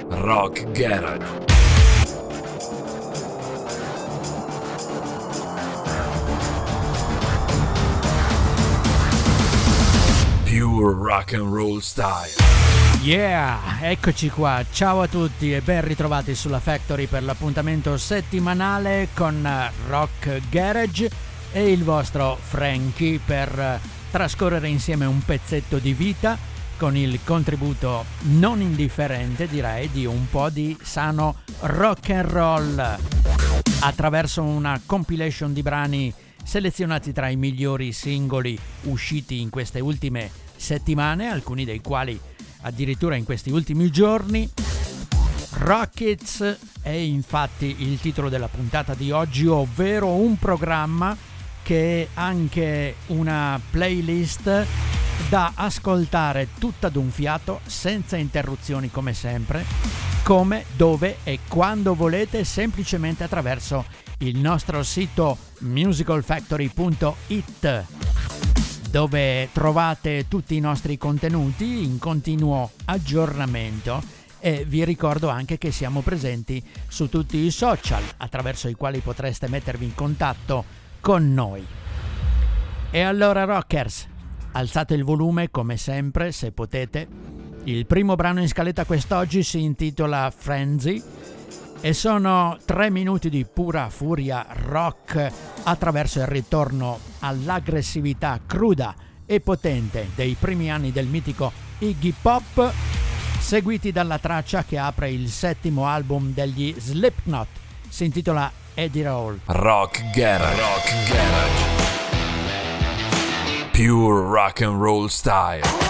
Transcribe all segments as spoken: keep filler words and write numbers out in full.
Rock Garage. Pure rock and roll style. Yeah, eccoci qua, ciao a tutti e ben ritrovati sulla Factory per l'appuntamento settimanale con Rock Garage e il vostro Frankie per trascorrere insieme un pezzetto di vita con il contributo non indifferente, direi, di un po' di sano rock and roll attraverso una compilation di brani selezionati tra i migliori singoli usciti in queste ultime settimane, alcuni dei quali addirittura in questi ultimi giorni. Rockets è infatti il titolo della puntata di oggi, ovvero un programma che è anche una playlist da ascoltare tutta d'un fiato, senza interruzioni come sempre, come, dove e quando volete, semplicemente attraverso il nostro sito musical factory punto it, dove trovate tutti i nostri contenuti in continuo aggiornamento, e vi ricordo anche che siamo presenti su tutti i social attraverso i quali potreste mettervi in contatto con noi. E allora rockers, alzate il volume come sempre se potete. Il primo brano in scaletta quest'oggi si intitola Frenzy e sono tre minuti di pura furia rock attraverso il ritorno all'aggressività cruda e potente dei primi anni del mitico Iggy Pop, seguiti dalla traccia che apre il settimo album degli Slipknot. Si intitola Eddie Roll. Rock Garage. Rock Garage. Pure rock and roll style.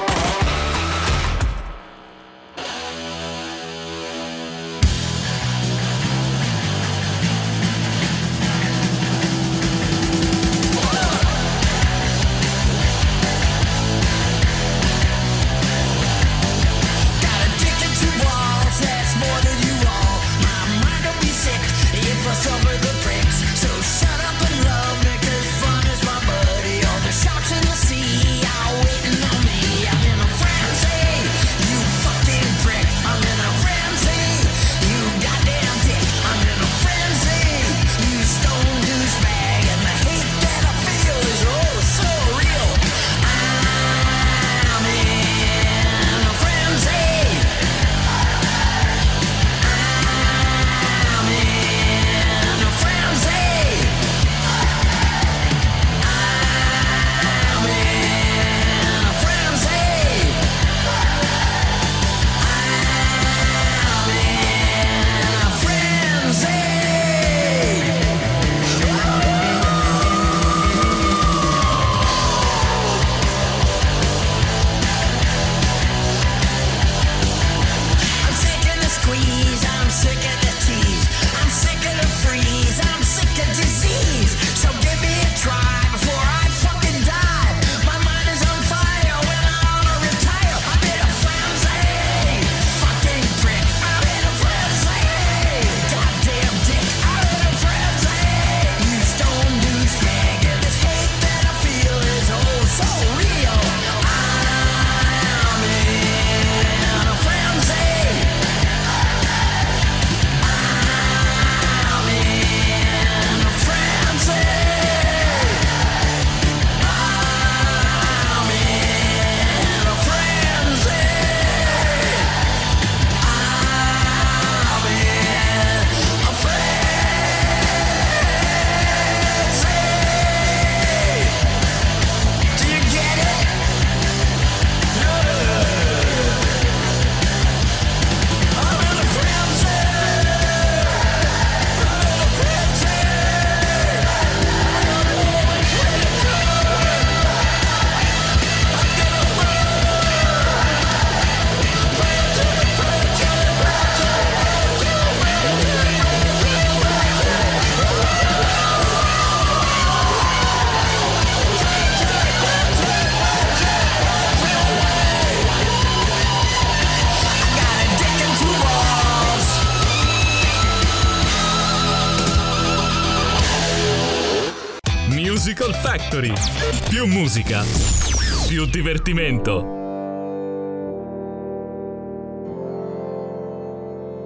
Musical Factory. Più musica, più divertimento.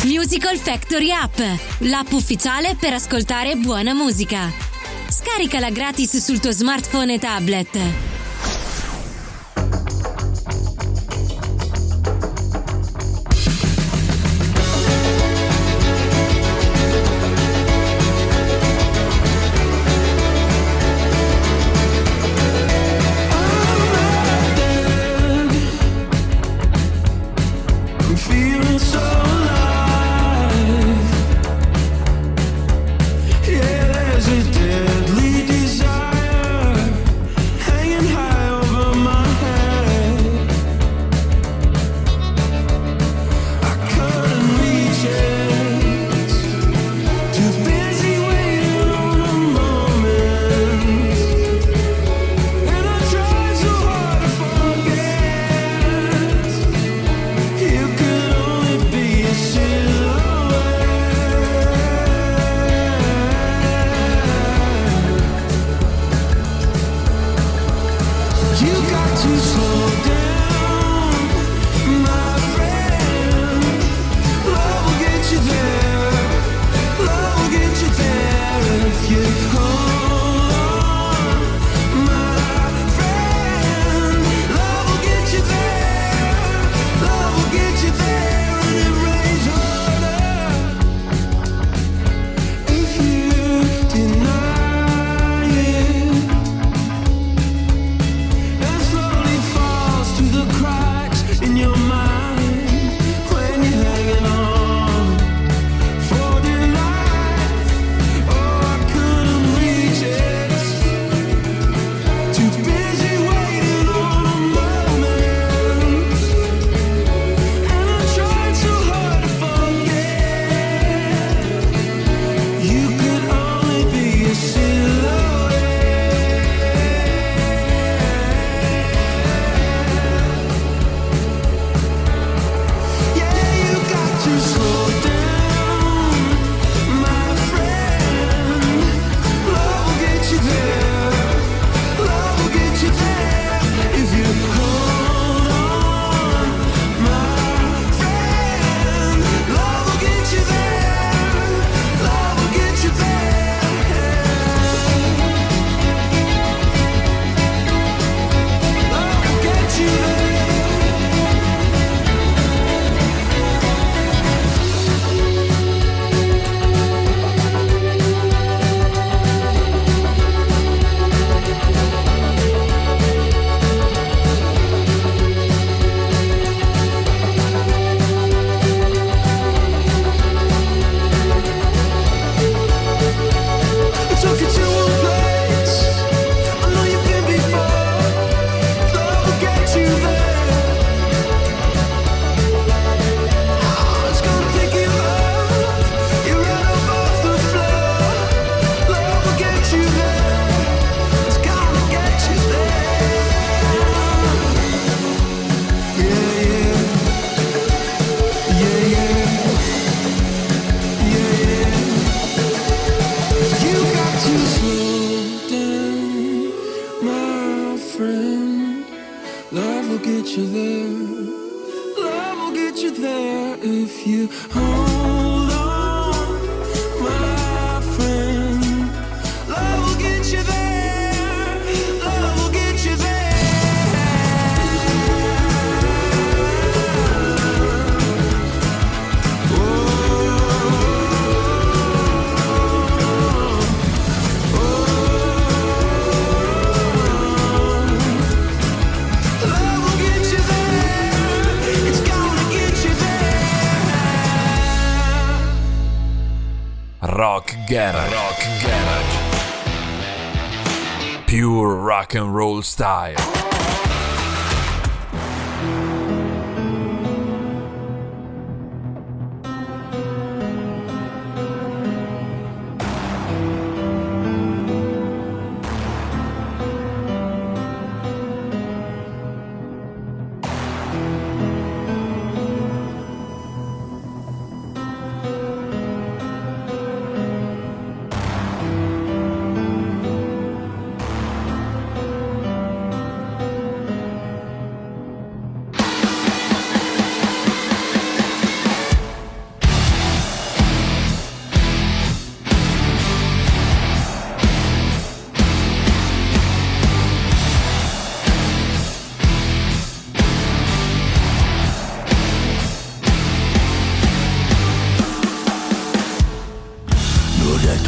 Musical Factory App, l'app ufficiale per ascoltare buona musica. Scaricala gratis sul tuo smartphone e tablet. Rock Garage. Rock Garage. Pure rock and roll style.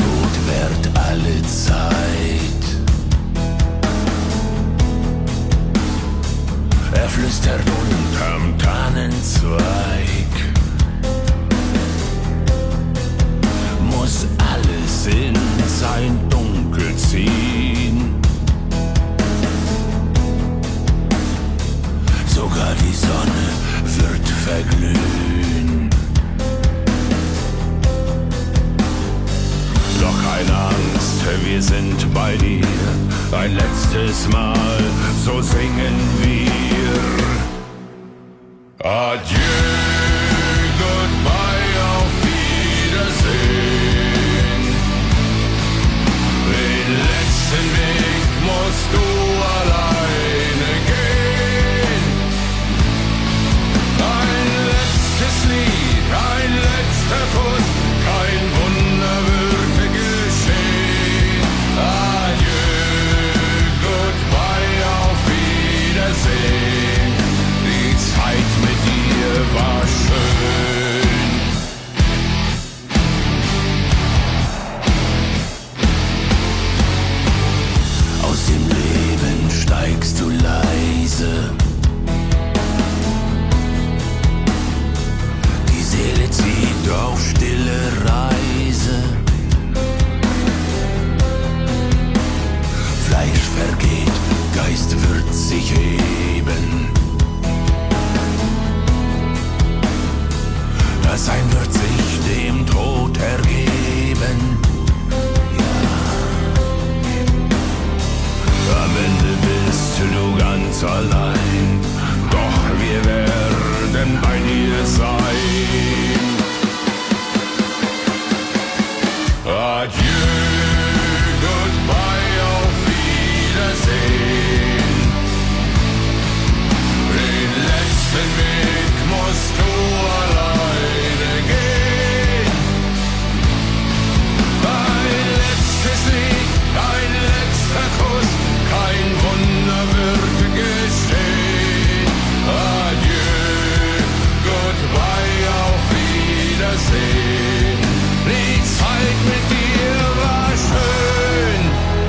Tod währt alle Zeit. Er flüstert unterm Tannenzweig. Muss alles in sein Dunkel ziehen. Sogar die Sonne wird verglühen. Doch keine Angst, wir sind bei dir. Ein letztes Mal, so singen wir. Adieu, goodbye, auf Wiedersehen. Den letzten Weg musst du alleine gehen. Ein letztes Lied, ein letzter Kuss, kein Wunder würde geschehen. Adieu, goodbye, auf Wiedersehen. Die Zeit mit dir war schön. Aus dem Leben steigst du leise. Die Seele zieht auf stille Reise. Fleisch vergeht, Geist wird sich heben. Das Sein wird sich dem Tod ergeben. Am Ende bist du ganz allein, doch wir werden bei dir sein. Adieu, goodbye, auf Wiedersehen. Den letzten Weg musst du alleine gehen. Ein letztes Lied, ein letzter Kuss, kein Wunder wird geschehen. Adieu, goodbye, auf Wiedersehen. Die Zeit mit dir war schön.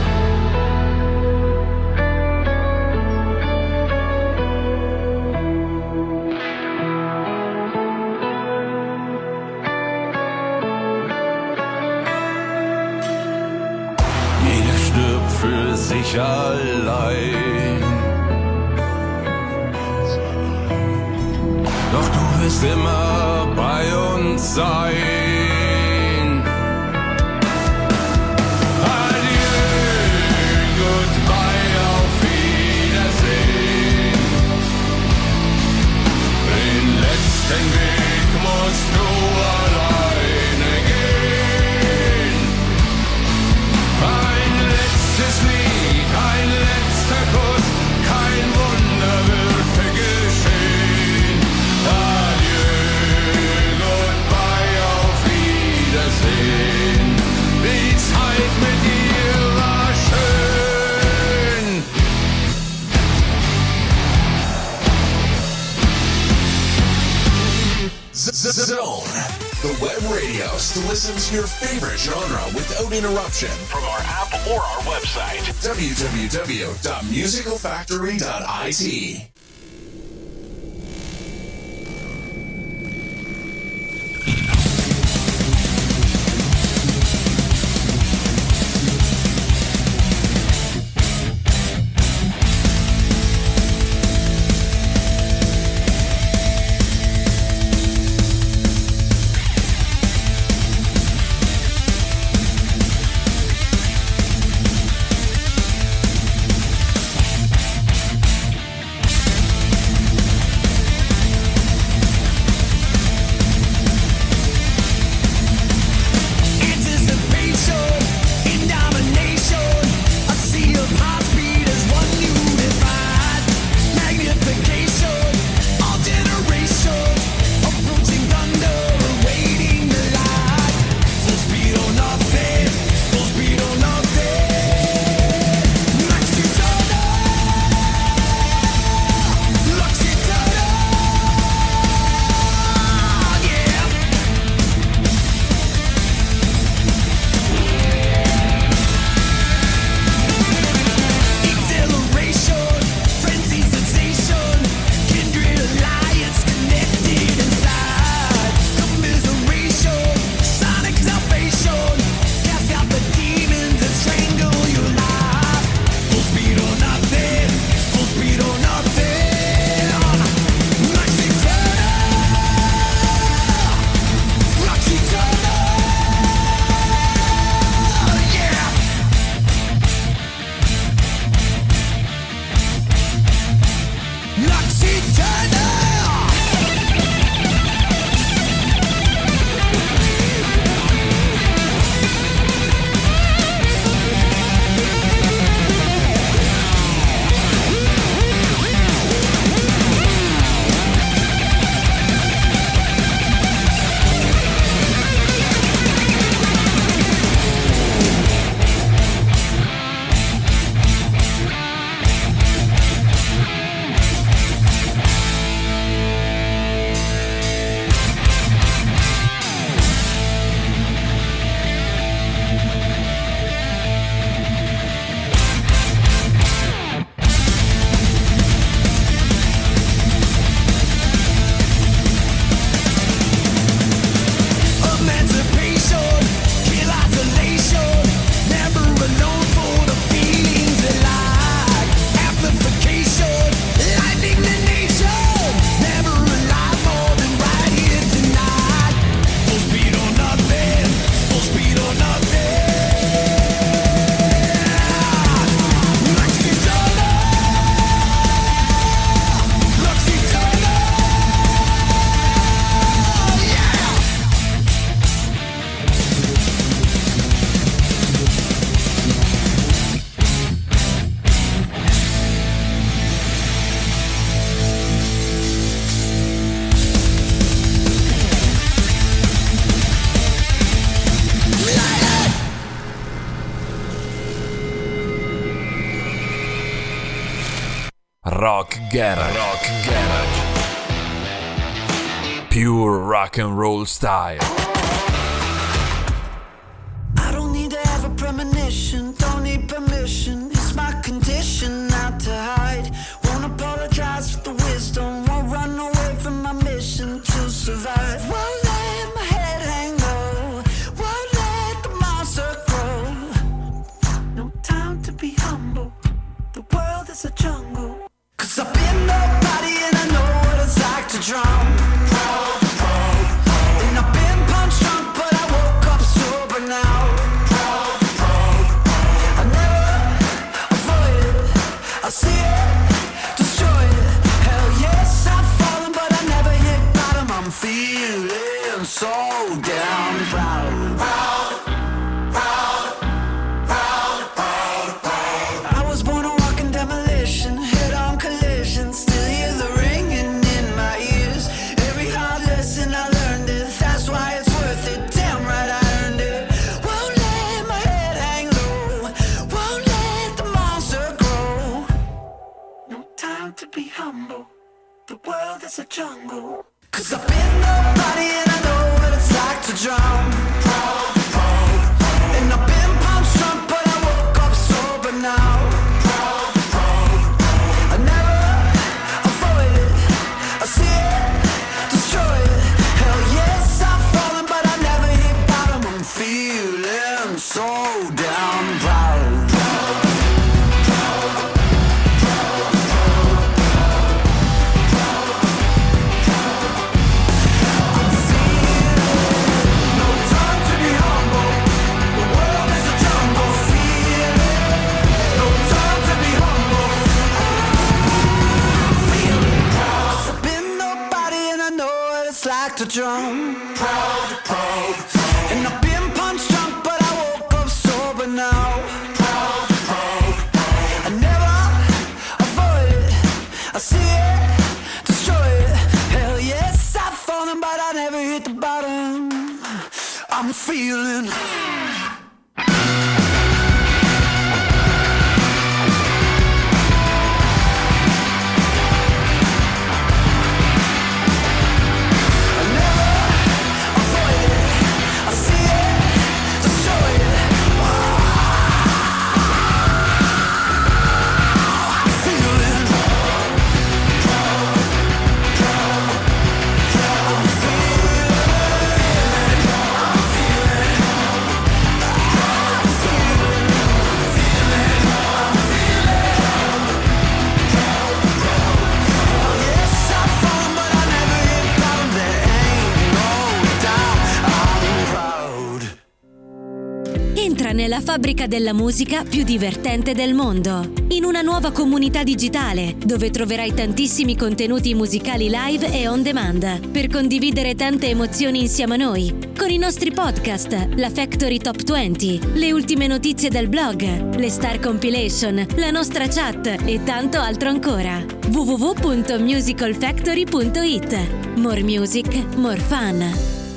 Jeder stirbt für sich allein. Doch du wirst immer bei uns sein. Adieu, goodbye, auf Wiedersehen. Den letzten Weg musst du alleine gehen. Ein letztes Lied, ein letzter Kuss, kein Wunder wird geschehen. Adieu, goodbye, auf Wiedersehen. Die Zeit mit dir war schön. Zone, the web radio to listen to your favorite genre without interruption from our app or our website, w w w dot musical factory dot i t. Rock Garage. Rock Garage. Pure rock and roll style. I don't need to have a premonition, don't need permission. It's my condition not to hide. Won't apologize for the wisdom, won't run away from my mission to survive. Won't let my head hang low, won't let the monster grow. No time to be humble, the world is a jungle. Cause I've been nobody and I know what it's like to drown. And I've been punch drunk but I woke up sober now. I never avoid it, I see it, destroy it. Hell yes, I've fallen but I never hit bottom. I'm feeling so damn proud. Proud, proud, proud, proud, proud. I was born a walking demolition, head on collision, still hear the ringing in my ears. Every hard lesson I learned it, that's why it's worth it. Damn right I earned it. Won't let my head hang low, won't let the monster grow. No time to be humble, the world is a jungle. Cause I've been nobody and I know what it's like to drown. Proud, proud, and I've been punched drunk but I woke up sober now. Proud, proud, I never avoid it, I see it, destroy it. Hell yes, I've fallen but I never hit bottom. I'm feeling so damn proud. Like to drum, proud, proud, and I've been punch drunk but I woke up sober now. Proud, proud, I never avoid it, I see it, destroy it. Hell yes, I've fallen but I never hit the bottom. I'm feeling nella fabbrica della musica più divertente del mondo, in una nuova comunità digitale dove troverai tantissimi contenuti musicali live e on demand per condividere tante emozioni insieme a noi, con i nostri podcast, la Factory Top venti, le ultime notizie del blog, le Star Compilation, la nostra chat e tanto altro ancora. w w w punto musical factory punto i t. More music, more fun.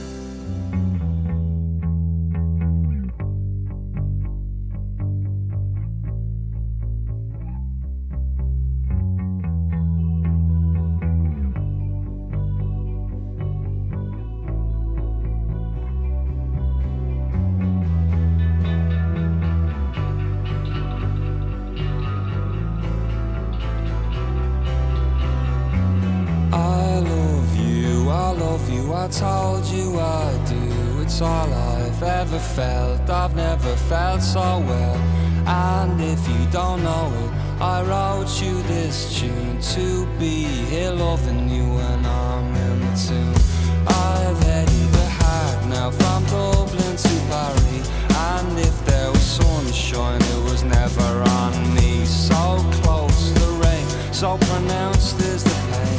I told you I do, it's all I've ever felt. I've never felt so well. And if you don't know it, I wrote you this tune to be here loving you when I'm in the tune. I've headed the hack now from Dublin to Paris, and if there was sunshine it was never on me. So close the rain, so pronounced is the pain.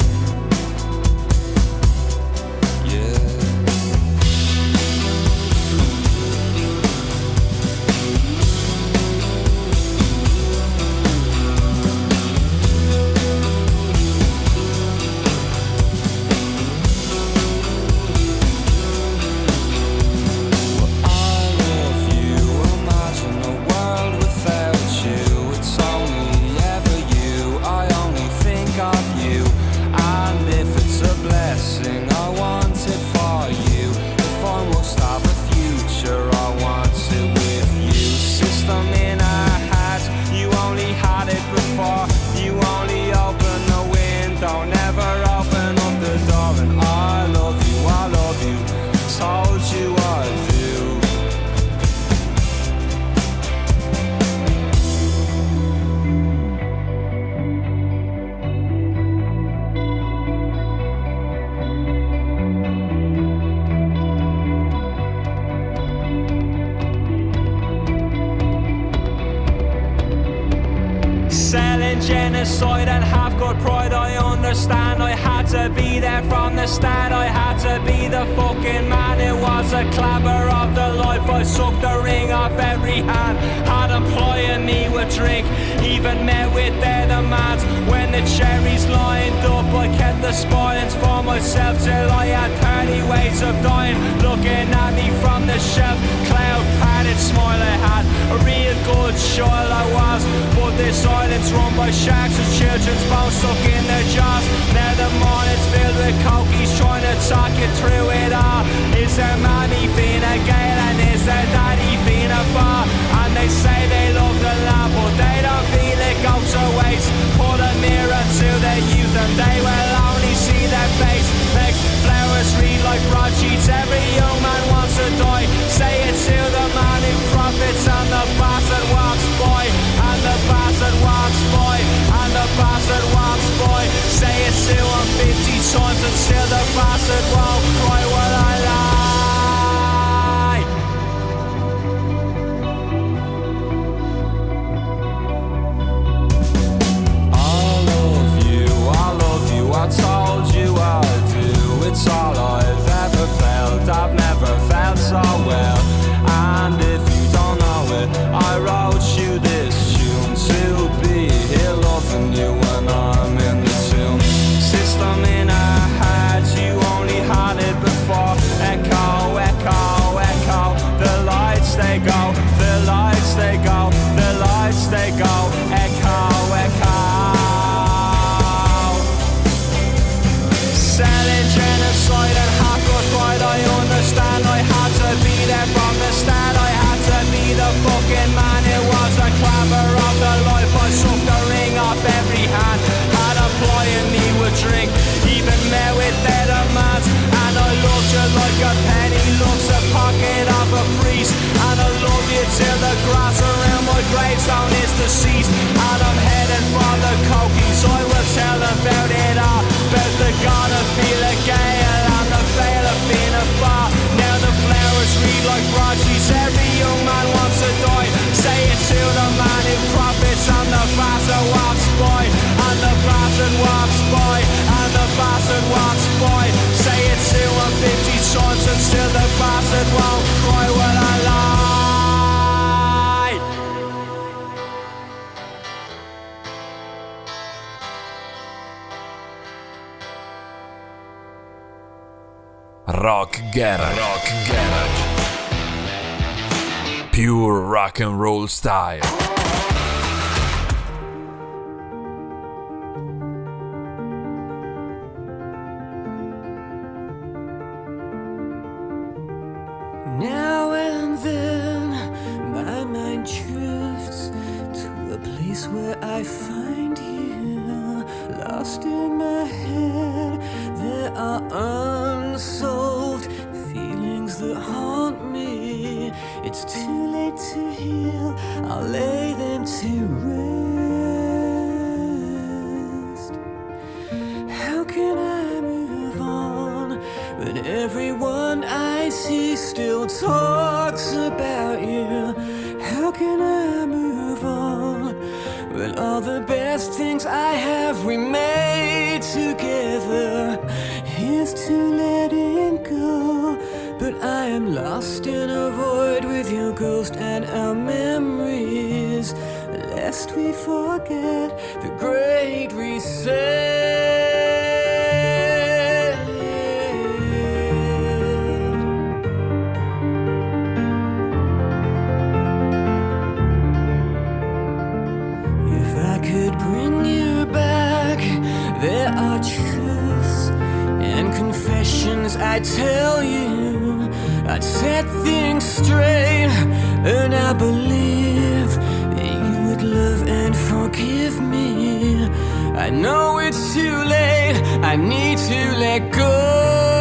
I love you, am I selling genocide and have got pride. I understand I had to be there from the start. I had to be the fucking man. It was a clamour of the life. I sucked the ring off every hand. Had employing me with drink, even met with their demands. When the cherries lined up, I kept the spoilings for myself till I had thirty ways of dying. Looking at me from the shelf, cloud padded smile I had. A real good child I was, but this island's run by sharks and children's bones stuck in their jaws. Now the morning's filled with cokies trying to talk you through it all. Is there mommy Fina Gael and is there daddy Fina Bar? And they say they love the land but they don't feel it goes to waste. Put a mirror to their youth and they will only see their face. Makes flowers read like broadsheets. Every young man wants to die. Say it to the man who profits and the bastard walks by. And the bastard walks by. And the bastard walks by. Say it to him fifty times until the bastard won't cry while I lie. I told you I'd do, it's all I've ever felt. I've never felt so well. And if you don't know it, I wrote you this tune to be here loving you when I'm in the tune. System in our heads, you only had it before. Echo, echo, echo. The lights they go, the lights they go, the lights they go. Echo, echo. Selling genocide and half-cut pride. I understand I had to be there from the start. I had to be the fucking man. It was a clamour of the life. I sucked the ring off every hand. Had employing me with drink, even met with their demands. And I loved you like a penny loves a pocket of a priest. And I love you till the grass around my gravestone is deceased. And I'm headed for the cokies. I will tell them about it all. About the god of Fila Gael and the veil of Fina Bar. Now the flowers read like broadsheets. Every young man wants to die. Say it to the man who profits and the bastard walks by. And the bastard walks by. And the bastard walks by. Say it to him fifty times until the bastard won't cry when I lie. Rock Garage. Rock Garage. Pure rock and roll style. Now and then my mind drifts to a place where I find you. Lost in my head, there are unsolved feelings that haunt me. It's too late to heal, I'll lay them to rest. How can I move on when everyone I see still talks about you? How can I move on when all the best things I have we made together? Here's to letting go, but I am lost in a void with your ghost and our memories, lest we forget the great reset. There are truths and confessions I tell you. I'd set things straight, and I believe that you would love and forgive me. I know it's too late, I need to let go.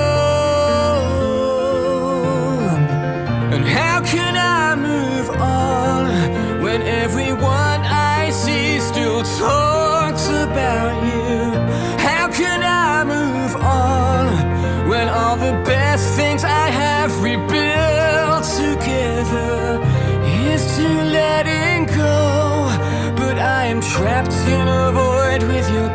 And how can I move on when everyone I see still talks about you? How can I move on when all the best things I have rebuilt together? Here's to letting go, but I am trapped in a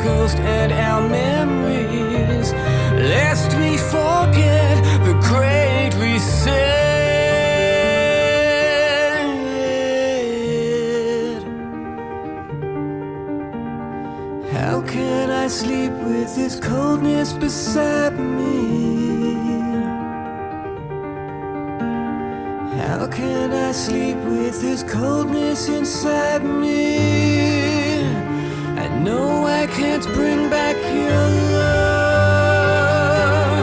ghost and our memories, lest we forget the great reset. How can I sleep with this coldness beside me? How can I sleep with this coldness inside me? I know I can't bring back your love.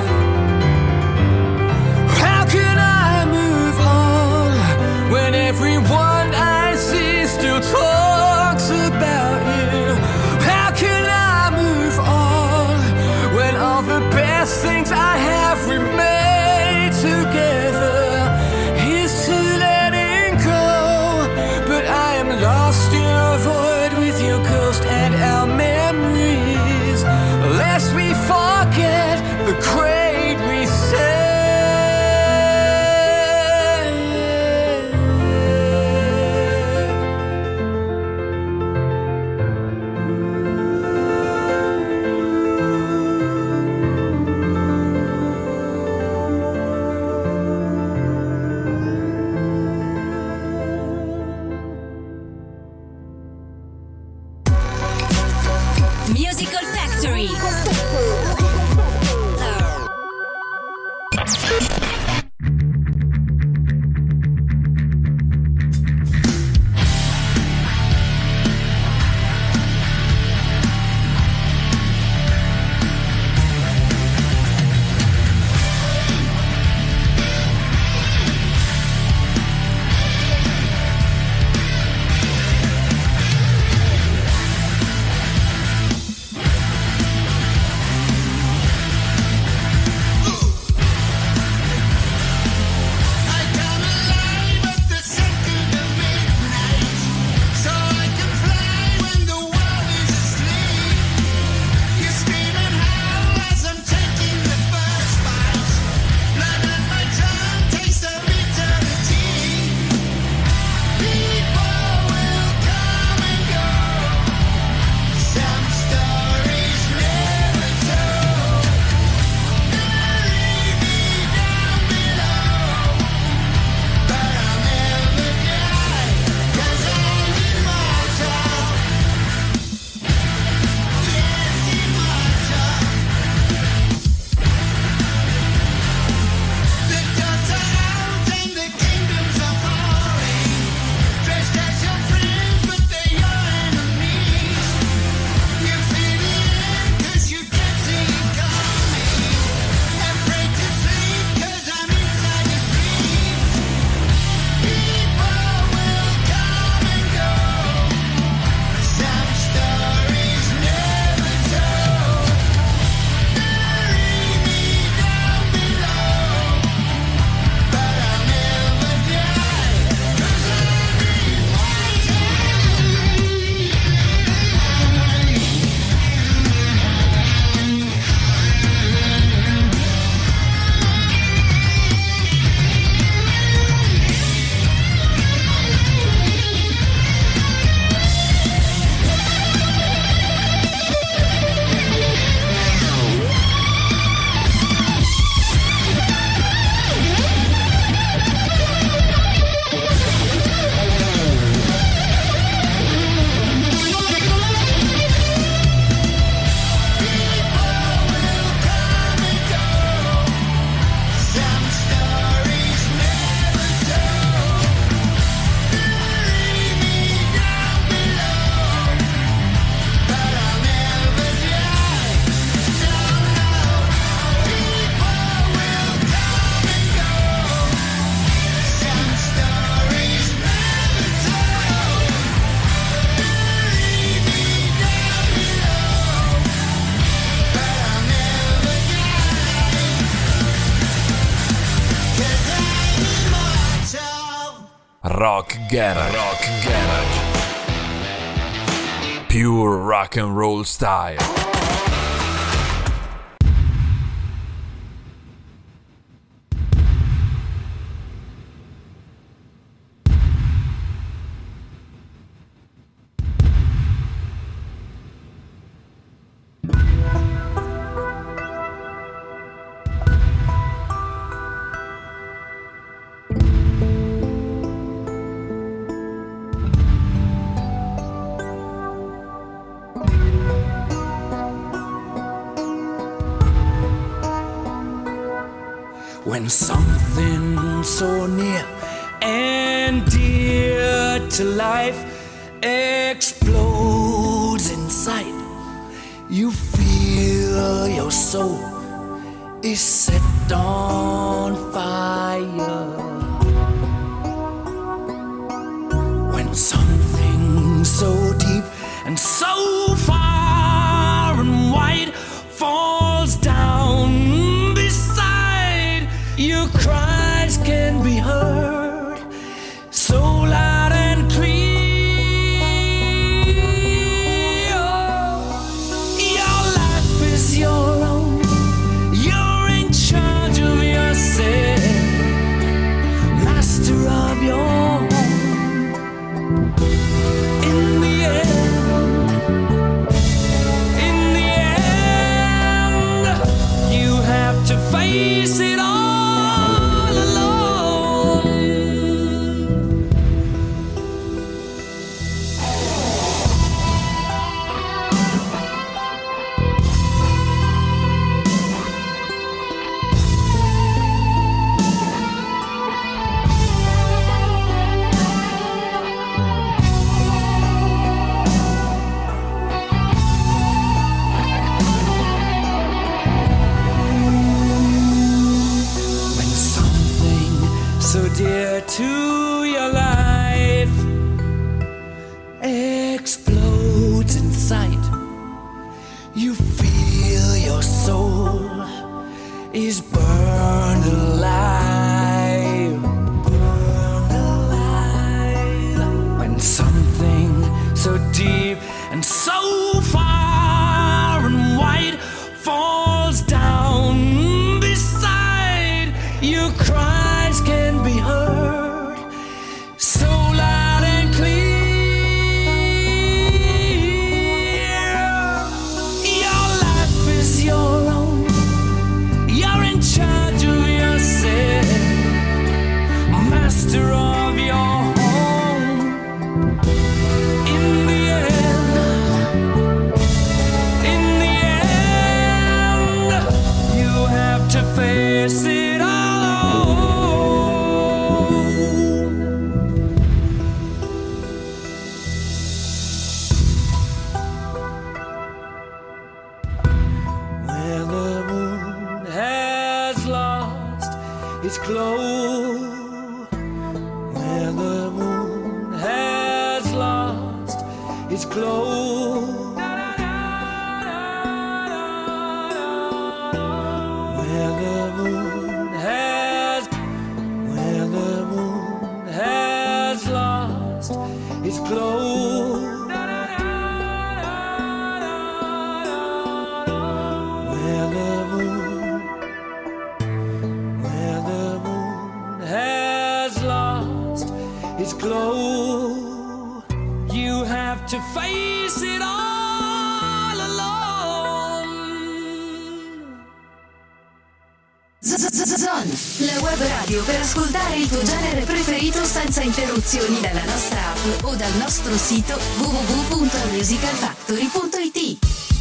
How can I move on when everyone I see still talks about you? How can I move on when all the best things I have remain together? Lost in a void with your ghost and our memories, lest we forget the great reset. Musical Factory. Rock Garage. Rock Garage. Pure rock and roll style. When something so near and dear to life explodes inside, you feel your soul is set on fire. When something so deep and so far and wide falls down beside, your cries can be heard so loud and clear. Your life is your own, you're in charge of yourself, master of your home. In the end, in the end, you have to face it all alone. When something so dear to your life explodes inside, you feel your soul is burned alive, burned alive. When something so deep and so far and wide falls down beside, your cries can be heard so loud and clear. Your life is your own, you're in charge of yourself, master of your home. In the end, in the end, you have to face it all. Where the moon has lost its glow, where the moon has lost its glow, where the moon has, where the moon has lost its glow, where the moon, where the moon has lost its glow, you have to face it all alone. Zon, la web radio per ascoltare il tuo genere preferito senza interruzioni dalla nostra app o dal nostro sito w w w punto musical factory punto i t.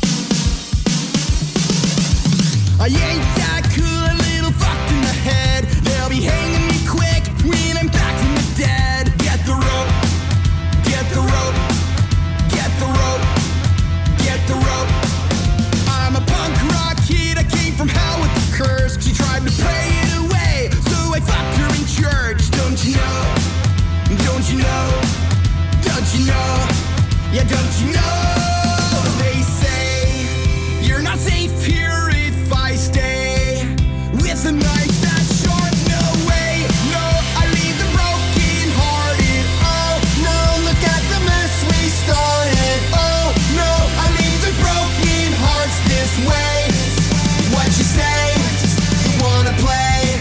I ain't that cool, a little fucked in the head. They'll be hanging me quick when I'm back from the dead. Get the rope, get the rope, get the rope, get the rope. I'm a punk rock kid, I came from hell with the curse. She tried to pray it away, so I fucked her in church. Don't you know, don't you know, don't you know, yeah, don't you know. They say you're not safe here if I stay with a knife that's short. No way, no, I leave them broken hearted. Oh no, look at the mess we started. Oh no, I leave the broken hearts this way. What you say? You wanna play?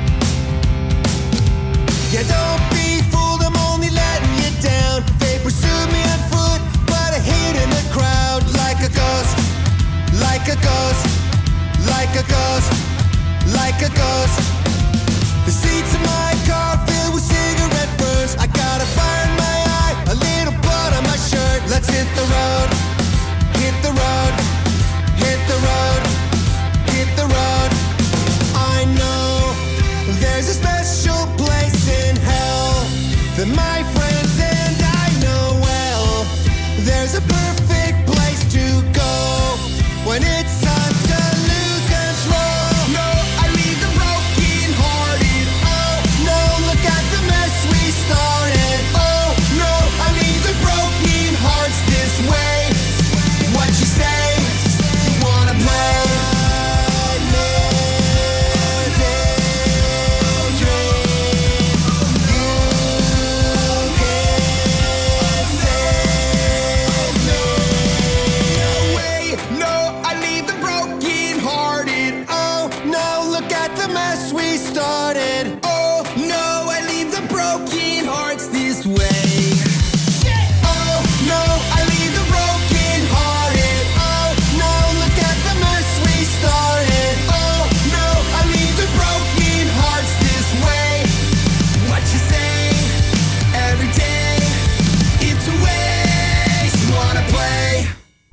Yeah, don't be fooled, I'm only letting you down. They pursued me on foot, but I hid in the crowd like a ghost, like a ghost, like a ghost, like a ghost. The seats in my car filled with cigarette burns. I got a fire in my eye, a little blood on my shirt. Let's hit the road, hit the road, hit the road, hit the road. I know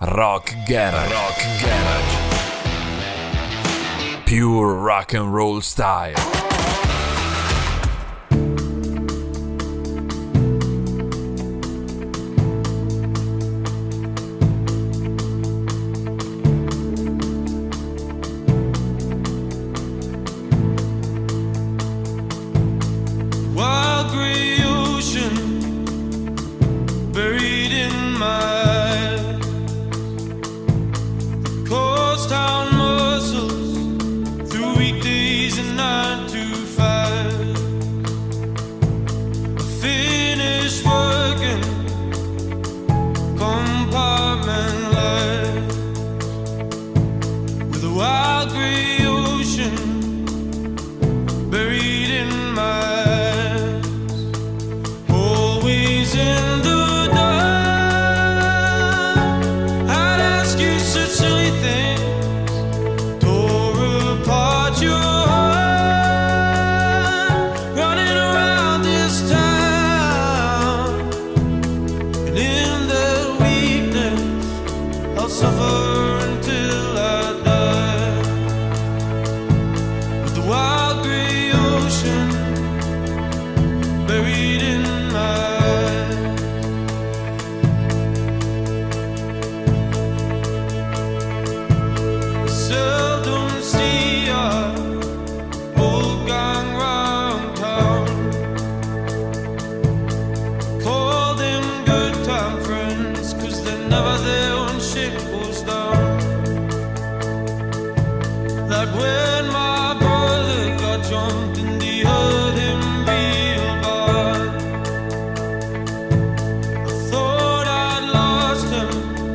Rock Garage. Rock Garage. Pure rock and roll style. Wild gray ocean buried in my coast town muscles through weekdays and nine to five. I finished working compartment life with a wild gray ocean buried in my always in the dark. I'd ask you such silly things, tore apart your heart, running around this town. And in that weakness, I'll suffer until I die. With the wild gray ocean buried in my seldom see our old gang round town. Call them good time friends, cause they're never there when shit goes down. Like when my brother got jumped and they hurt him real bad. I thought I'd lost him,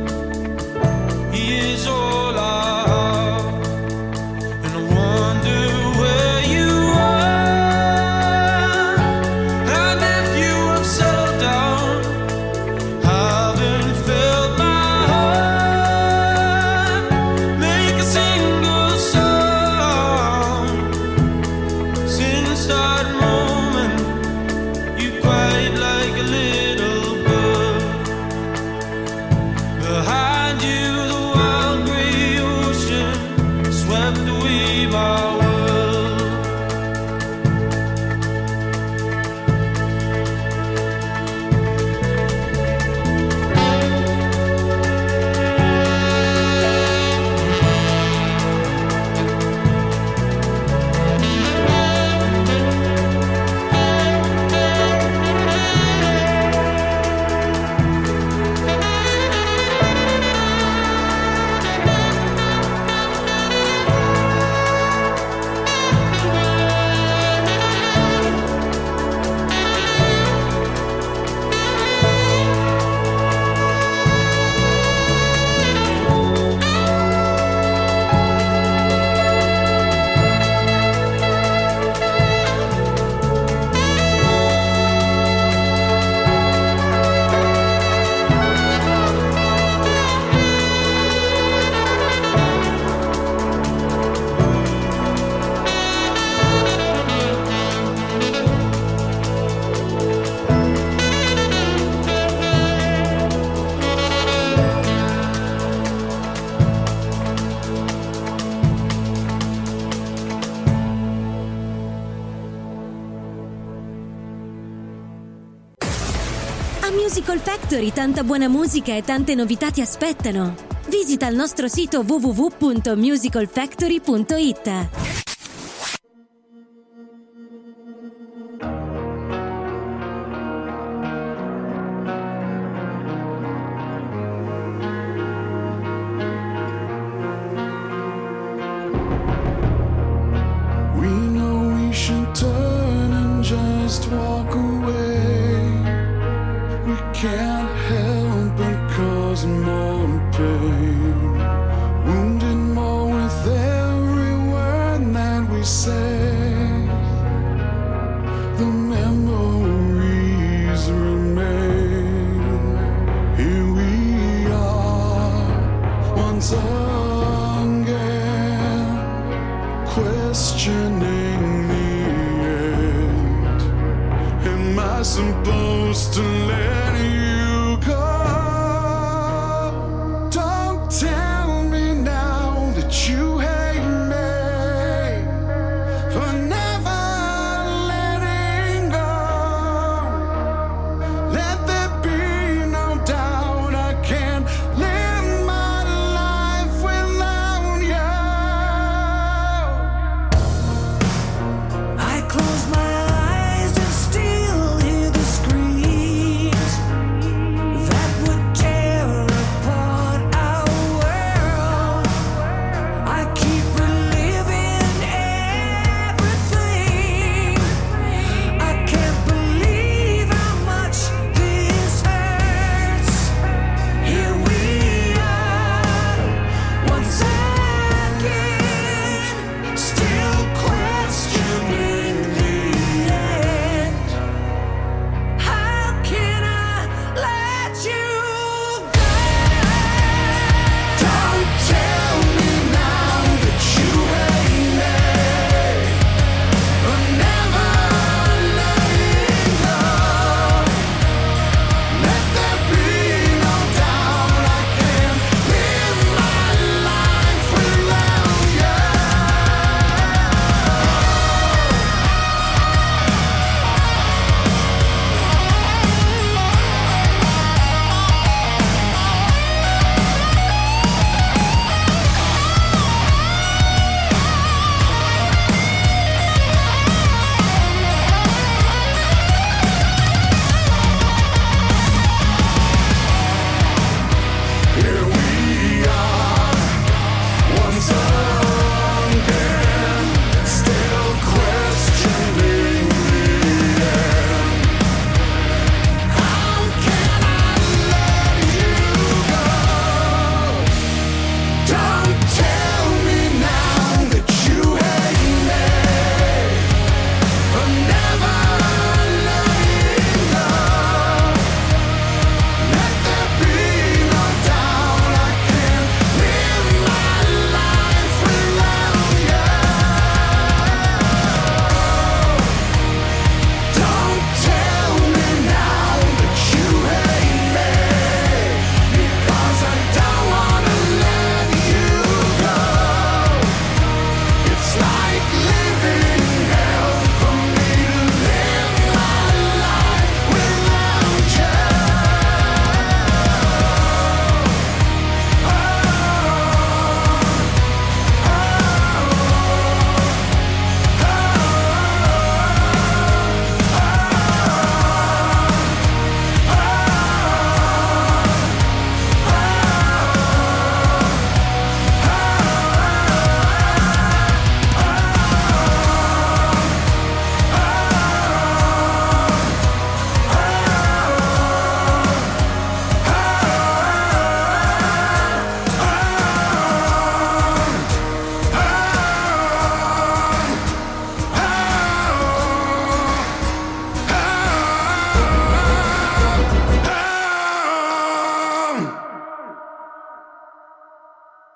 he is all I have. And I wonder where you are, and if you have settled down. Haven't felt my heart make a single sound since that moment. You cried like a little bird. Behind you, the wild gray ocean swept away my world. A Musical Factory tanta buona musica e tante novità ti aspettano. Visita il nostro sito w w w punto musical factory punto i t. We know we should turn and just walk away. We can't help but cause more pain, wounded more with every word that we say. The memories remain. Here we are once again, questioning the end. Am I supposed to let you go? Don't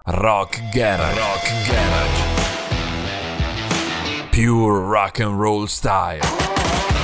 Rock Garage. Rock Garage. Pure rock and roll style.